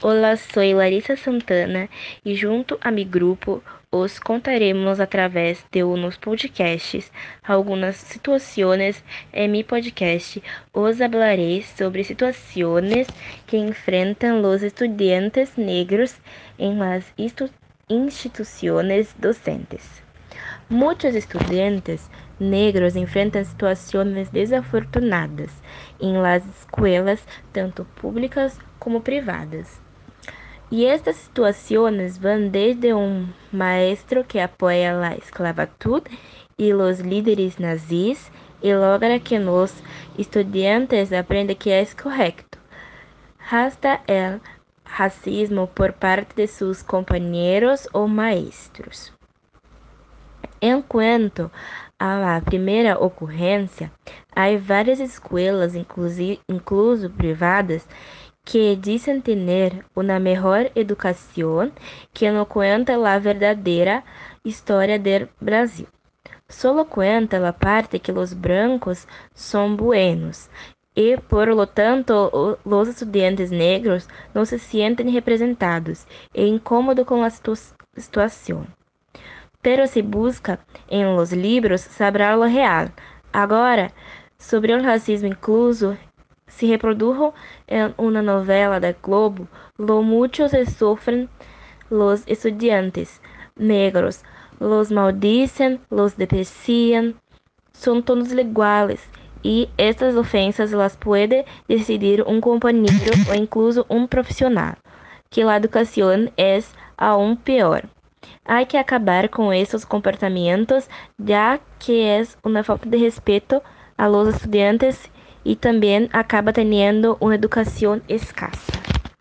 Olá, sou Larissa Santana e junto a mi grupo os contaremos através de unos podcasts algunas situaciones en mi podcast. Os hablaré sobre situaciones que enfrentan los estudiantes negros en las instituciones docentes. Muitos estudantes negros enfrentam situações desafortunadas em las escolas, tanto públicas como privadas. E estas situações vão desde um maestro que apoia a esclavitud e os líderes nazis e logra que os estudantes aprendam que é correto, hasta el racismo por parte de seus companheiros ou maestros. Enquanto a primeira ocorrência, há várias escolas, incluso privadas, que dizem ter uma melhor educação que não conta a verdadeira história do Brasil. Solo cuenta a parte que os brancos são buenos e, por lo tanto, os estudantes negros não se sentem representados e incômodos com a situação. Pero se busca em los libros sabrá lo real. Agora, sobre o racismo incluso, se reprodujo em uma novela da Globo, lo mucho se sofren los estudiantes negros, los maldicen, los desprecian, son todos iguales, e estas ofensas las puede decidir um companheiro ou incluso um profissional, que a educação é aún pior. Há que acabar com esses comportamentos, já que é uma falta de respeito a los estudiantes e também acaba tendo uma educação escassa.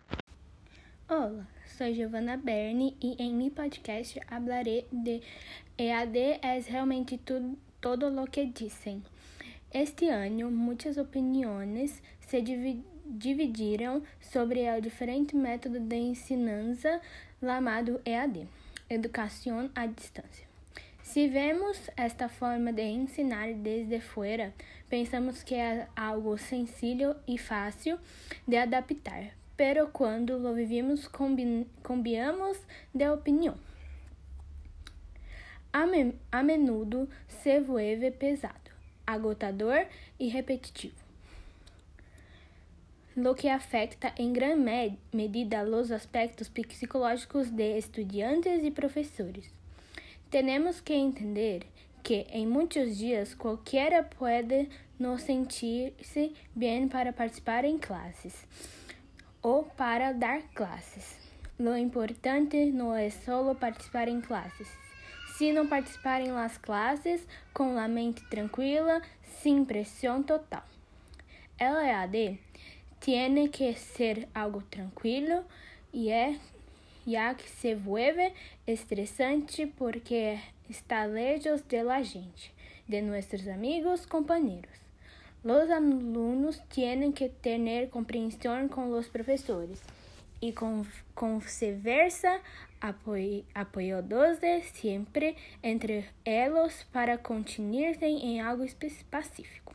Olá, sou Giovanna Berni e em mi podcast hablaré de EAD es realmente todo lo que dicen. Este ano, muitas opiniões se dividiram sobre o diferente método de ensinança chamado EAD, Educação à Distância. Se vemos esta forma de ensinar desde fora, pensamos que é algo sencillo e fácil de adaptar, pero quando lo vivimos cambiamos de opinião. A menudo se vuelve pesado, agotador e repetitivo, lo que afecta em gran medida los aspectos psicológicos de estudiantes e professores. Temos que entender que em muitos dias qualquer pode não sentir-se bem para participar em classes ou para dar classes. Lo importante não é só participar em classes, sino participar em las classes com a mente tranquila, sem pressão total. El EAD tiene que ser algo tranquilo ya que se vuelve estresante porque está lejos de la gente, de nuestros amigos, compañeros. Los alumnos tienen que tener comprensión con los profesores y con viceversa, apoyándose siempre entre ellos para continuar en algo específico.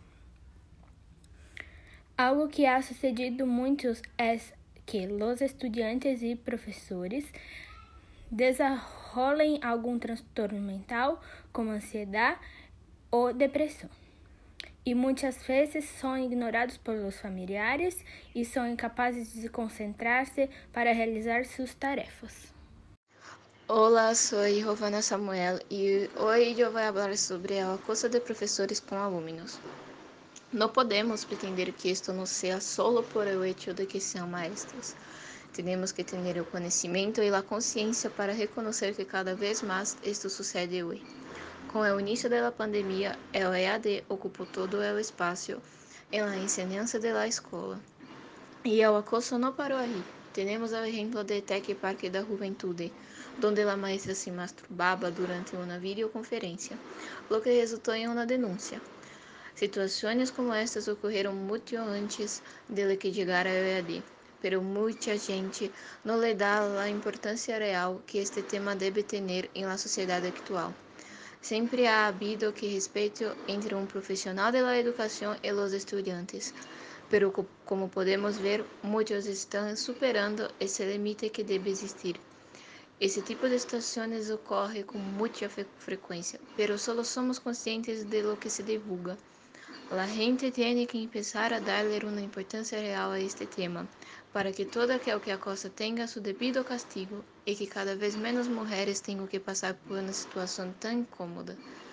Algo que ha sucedido muitos es que los estudiantes e professores desenvolvem algum transtorno mental, como ansiedade ou depressão. E muitas vezes são ignorados por los familiares e são incapazes de concentrar-se para realizar suas tarefas. Olá, sou Giovanna Samuel e hoje eu vou falar sobre o acoso de professores com alunos. Não podemos pretender que isto não seja solo por el hecho de que sejam maestros. Temos que ter o conhecimento e a consciência para reconhecer que cada vez mais isto sucede hoje. Com o início da pandemia, o EAD ocupou todo o espaço na enseñanza de la escola. E o acoso não parou aí. Temos o exemplo de Tech Park da Juventude, onde a maestra se masturbava durante uma videoconferência, o que resultou em uma denúncia. Situações como estas ocorreram muito antes de que chegara o EAD, pero muita gente não lhe dá a importância real que este tema deve ter na sociedade atual. Sempre ha habido que respeito entre um profissional da educação e os estudantes, pero como podemos ver, muchos están superando ese límite que debe existir. Esse tipo de situações ocorre com muita frequência, pero solo somos conscientes de lo que se divulga. La gente tiene que empezar a darle una importancia real a este tema, para que todo aquel que acosa tenga su debido castigo y que cada vez menos mujeres tengan que pasar por una situación tan incómoda.